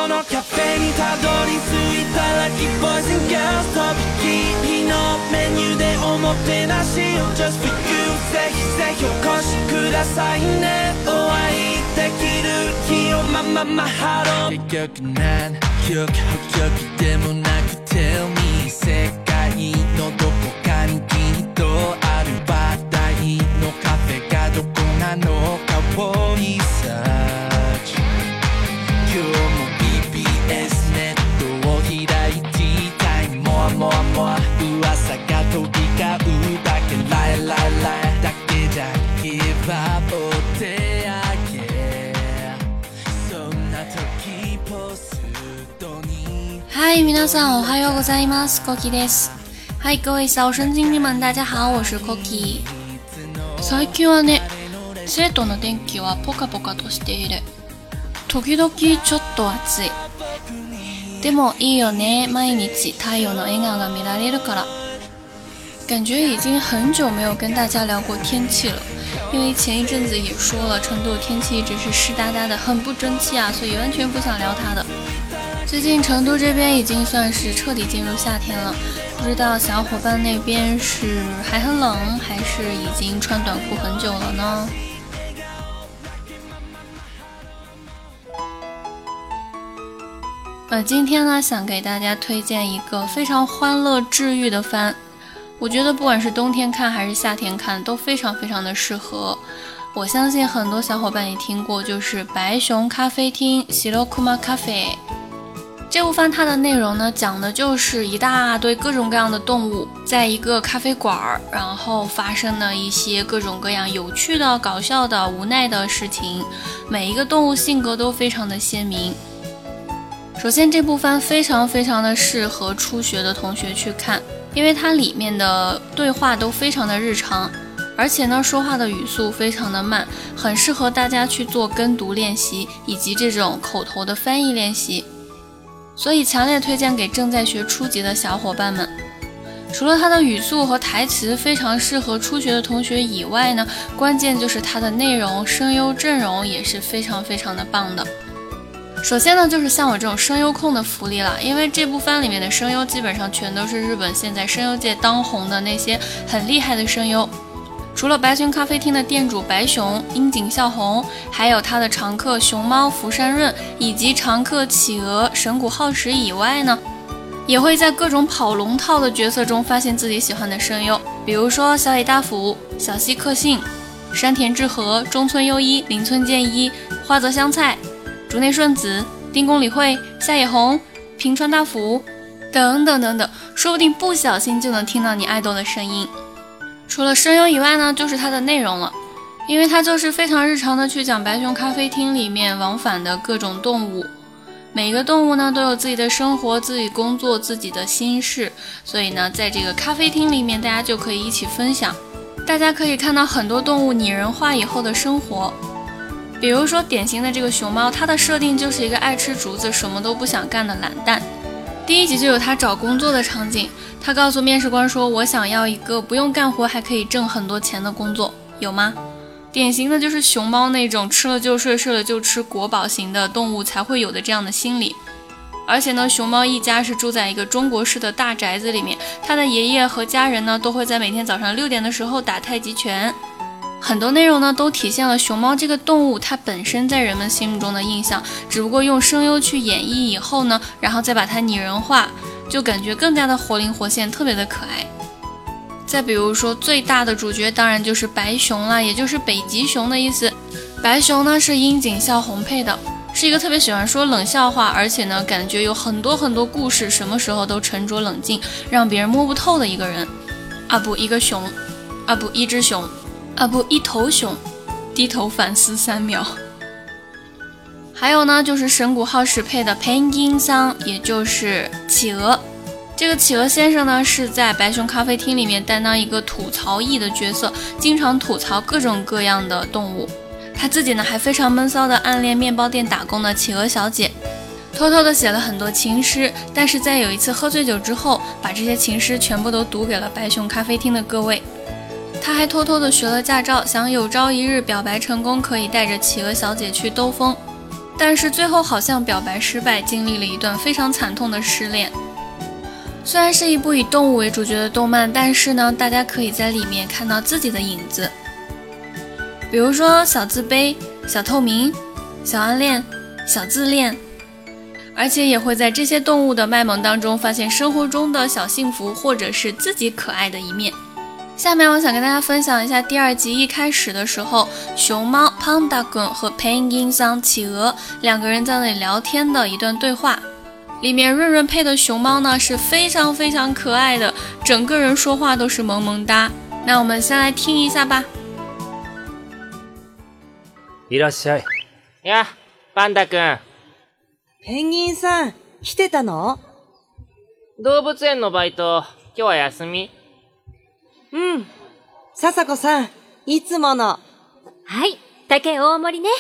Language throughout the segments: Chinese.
このカフェにたどり着いたラッキーボーイズ&ガールズとびきりのメニューでおもてなしを Just for you ぜひぜひお越しくださいねお会いできる日をハロー結局何曲曲でもなく Tell me 世界のどこかにきっとある話題のカフェがどこなのかをリサーチ今日も BBS ネットを開いてたいモアモアモア噂が飛び交うだけライライライだけじゃヒップホップお手上げそんな時ポストに嗨，皆さんおはようございます。Kokiです。はい、各位小神经病们，大家好，我是 Koki。最近はね、生徒の天気はポカポカとしている。時々ちょっと暑い。でもいいよね，毎日太陽の笑顔が見られるから。感觉已经很久没有跟大家聊过天气了，因为前一阵子也说了，成都的天气一直是湿哒哒的，很不争气啊，所以完全不想聊它的。最近成都这边已经算是彻底进入夏天了，不知道小伙伴那边是还很冷，还是已经穿短裤很久了呢？今天呢，想给大家推荐一个非常欢乐治愈的番，我觉得不管是冬天看还是夏天看都非常非常的适合。我相信很多小伙伴也听过，就是白熊咖啡厅 Shirokuma Cafe。这部番它的内容呢，讲的就是一大堆各种各样的动物在一个咖啡馆，然后发生的一些各种各样有趣的、搞笑的、无奈的事情。每一个动物性格都非常的鲜明。首先，这部番非常非常的适合初学的同学去看，因为它里面的对话都非常的日常，而且呢，说话的语速非常的慢，很适合大家去做跟读练习以及这种口头的翻译练习。所以强烈推荐给正在学初级的小伙伴们。除了它的语速和台词非常适合初学的同学以外呢，关键就是它的内容、声优阵容也是非常非常的棒的。首先呢，就是像我这种声优控的福利了，因为这部番里面的声优基本上全都是日本现在声优界当红的那些很厉害的声优。除了白熊咖啡厅的店主白熊、樱井孝宏，还有他的常客熊猫福山润，以及常客企鹅神谷浩史以外呢，也会在各种跑龙套的角色中发现自己喜欢的声优，比如说小野大辅、小西克幸、山田智和、中村优一、林村健一、花泽香菜、竹内顺子、丁宫理惠、夏野红、平川大辅等等等等，说不定不小心就能听到你爱豆的声音。除了声优以外呢，就是它的内容了，因为它就是非常日常的去讲白熊咖啡厅里面往返的各种动物，每个动物呢都有自己的生活、自己工作、自己的心事，所以呢，在这个咖啡厅里面，大家就可以一起分享。大家可以看到很多动物拟人化以后的生活，比如说典型的这个熊猫，它的设定就是一个爱吃竹子、什么都不想干的懒蛋。第一集就有他找工作的场景，他告诉面试官说，我想要一个不用干活还可以挣很多钱的工作，有吗？典型的就是熊猫那种吃了就睡、睡了就吃国宝型的动物才会有的这样的心理。而且呢，熊猫一家是住在一个中国式的大宅子里面，他的爷爷和家人呢都会在每天早上6点的时候打太极拳。很多内容呢都体现了熊猫这个动物它本身在人们心目中的印象，只不过用声优去演绎以后呢，然后再把它拟人化，就感觉更加的活灵活现，特别的可爱。再比如说最大的主角当然就是白熊啦，也就是北极熊的意思。白熊呢是樱井孝宏配的，是一个特别喜欢说冷笑话，而且呢感觉有很多很多故事，什么时候都沉着冷静，让别人摸不透的一个人。啊不，一个熊，啊不，一只熊，啊不，一头熊，低头反思3秒。还有呢，就是神谷浩史配的 Penguin 桑，也就是企鹅。这个企鹅先生呢，是在白熊咖啡厅里面担当一个吐槽役的角色，经常吐槽各种各样的动物。他自己呢，还非常闷骚的暗恋面包店打工的企鹅小姐，偷偷的写了很多情诗，但是在有一次喝醉酒之后，把这些情诗全部都读给了白熊咖啡厅的各位。他还偷偷的学了驾照，想有朝一日表白成功，可以带着企鹅小姐去兜风。 但是最后好像表白失败，经历了一段非常惨痛的失恋。虽然是一部以动物为主角的动漫，但是呢，大家可以在里面看到自己的影子，比如说小自卑、小透明、小暗恋、小自恋，而且也会在这些动物的卖萌当中发现生活中的小幸福，或者是自己可爱的一面。下面我想跟大家分享一下第2集一开始的时候，熊猫胖达君和 Penguin 桑企鹅2个人在那里聊天的一段对话。里面润润配的熊猫呢是非常非常可爱的，整个人说话都是萌萌哒。那我们先来听一下吧。 いらっしゃい。 や、パンダくん。 ペンギンさん、来てたの？ 動物園のバイト、今日は休み？ うん。笹子さん、いつもの。 はい、竹大盛りね。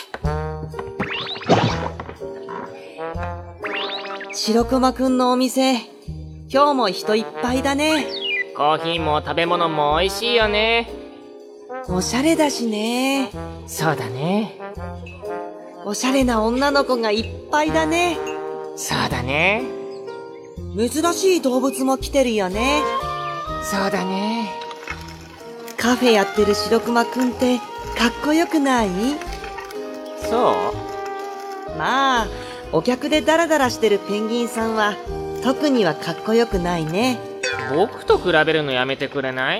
白熊くんのお店、今日も人いっぱいだね。 コーヒーも食べ物も美味しいよね。 おしゃれだしね。 そうだね。 おしゃれな女の子がいっぱいだね。 そうだね。 珍しい動物も来てるよね。 そうだね。 カフェやってる白熊くんってかっこよくない？ そまあ、お客でダラダラしてるペンギンさんは特にはかっこよくないね。 僕と比べるのやめてくれない？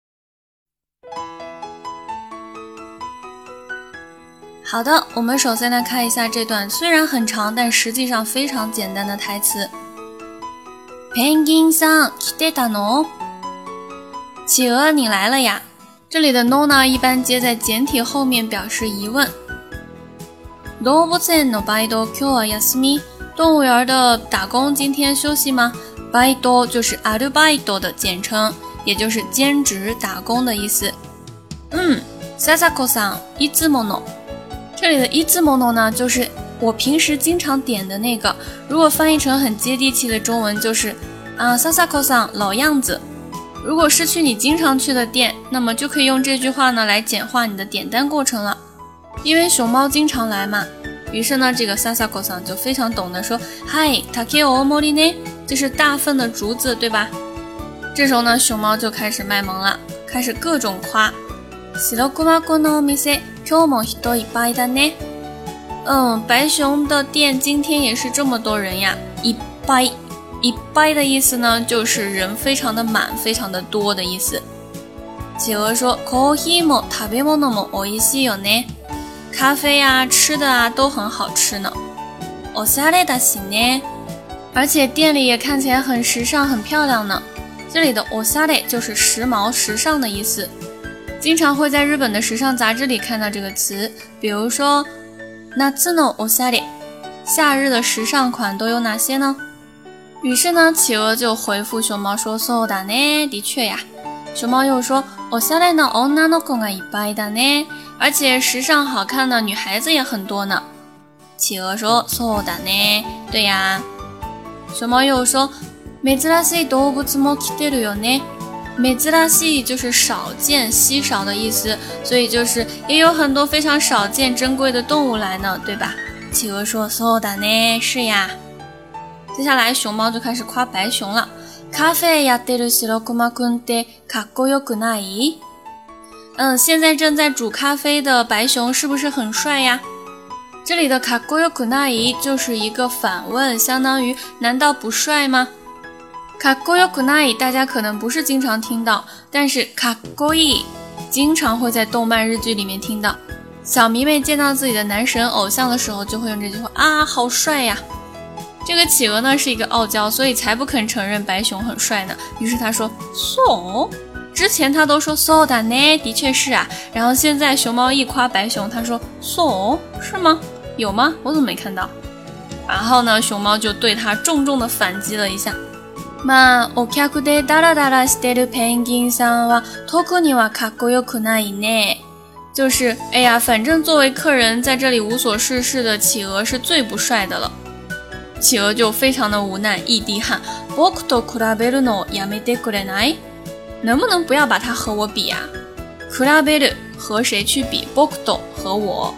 好的，我们首先来看一下这段虽然很长，但实际上非常简单的台词。ペンギンさん、来てたの？企鹅，你来了呀？这里的 no 呢，一般接在简体后面表示疑问。動物園のバイト、今日は休み？动物园的打工今天休息吗？バイト就是アルバイト的简称，也就是兼职打工的意思。笹子さん、いつもの。这里的いつもの呢，就是我平时经常点的那个。如果翻译成很接地气的中文，就是笹子さん，老样子。如果是去你经常去的店，那么就可以用这句话呢来简化你的点单过程了。因为熊猫经常来嘛，于是呢，这个笹子さん就非常懂得说，嗨，竹大盛りね，就是大份的竹子，对吧？这时候呢，熊猫就开始卖萌了，开始各种夸。白熊くんのお店、今日も人いっぱいだね。白熊的店今天也是这么多人呀。いっぱい，いっぱい的意思呢，就是人非常的满，非常的多的意思。企鹅说，コーヒーも食べ物も美味しいよね。咖啡啊，吃的啊，都很好吃呢。おしゃれだしね。而且店里也看起来很时尚，很漂亮呢。这里的おしゃれ就是时髦、时尚的意思。经常会在日本的时尚杂志里看到这个词，比如说夏のおしゃれ，夏日的时尚款都有哪些呢？于是呢，企鹅就回复熊猫说，そうだね，的确呀。熊猫又说，おしゃれな女の子がいっぱいだね，而且时尚好看的女孩子也很多呢。企鹅说，そうだね，对呀。熊猫又说，珍しい動物も来てるよね。珍しい就是少见、稀少的意思，所以就是也有很多非常少见、珍贵的动物来呢，对吧？企鹅说，そうだね，是呀。接下来熊猫就开始夸白熊了。カフェやってる白熊くんってかっこよくない？现在正在煮咖啡的白熊是不是很帅呀？这里的かっこよくない就是一个反问，相当于难道不帅吗？かっこよくない大家可能不是经常听到，但是かっこいい经常会在动漫日剧里面听到。小迷妹见到自己的男神偶像的时候就会用这句话啊，好帅呀。这个企鹅呢是一个傲娇，所以才不肯承认白熊很帅呢。于是他说 so， 之前他都说 so だね，的确是啊。然后现在熊猫一夸白熊，他说 so 是吗？有吗？我怎么没看到？然后呢，熊猫就对他重重的反击了一下。まあ、お客でダラダラしてるペンギンさんは特にはかっこよくないね。就是，哎呀，反正作为客人在这里无所事事的企鹅是最不帅的了。企鹅就非常的无奈，一滴汗。僕と比べるのやめてくれない？能不能不要把它和我比啊？比べる和谁去比？僕と和我。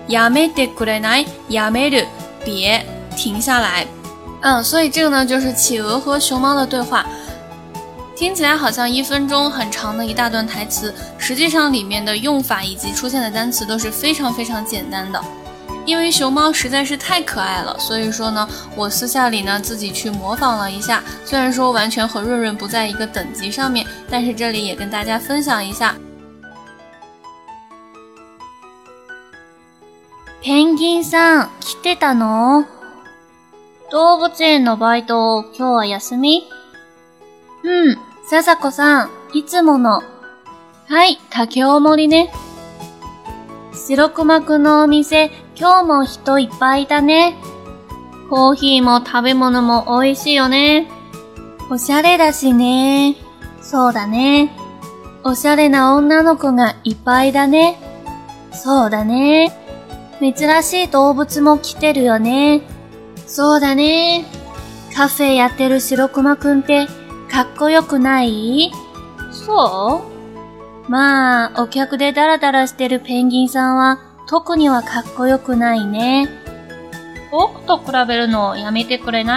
やめてくれない？やめる，别，停下来。所以这个呢就是企鹅和熊猫的对话。听起来好像1分钟很长的一大段台词，实际上里面的用法以及出现的单词都是非常非常简单的。因为熊猫实在是太可爱了，所以说呢，我私下里呢自己去模仿了一下，虽然说完全和润润不在一个等级上面，但是这里也跟大家分享一下。ペンギンさん、来てたの？動物園のバイト、今日は休み？笹子さん、いつもの。はい、竹大盛りね。白熊くんのお店、今日も人いっぱいだね。コーヒーも食べ物も美味しいよね。おしゃれだしね。そうだね。おしゃれな女の子がいっぱいだね。そうだね。珍しい動物も来てるよね。そうだね。カフェやってる白熊くんってかっこよくない？そう？まあ、お客でダラダラしてるペンギンさんは特にはかっこよくないね。僕と比べるのやめてくれない？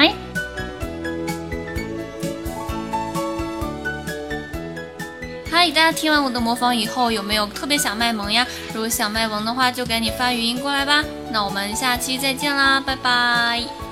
嗨，大家听完我的模仿以后，有没有特别想卖萌呀？如果想卖萌的话，就赶紧发语音过来吧。那我们下期再见啦，拜拜。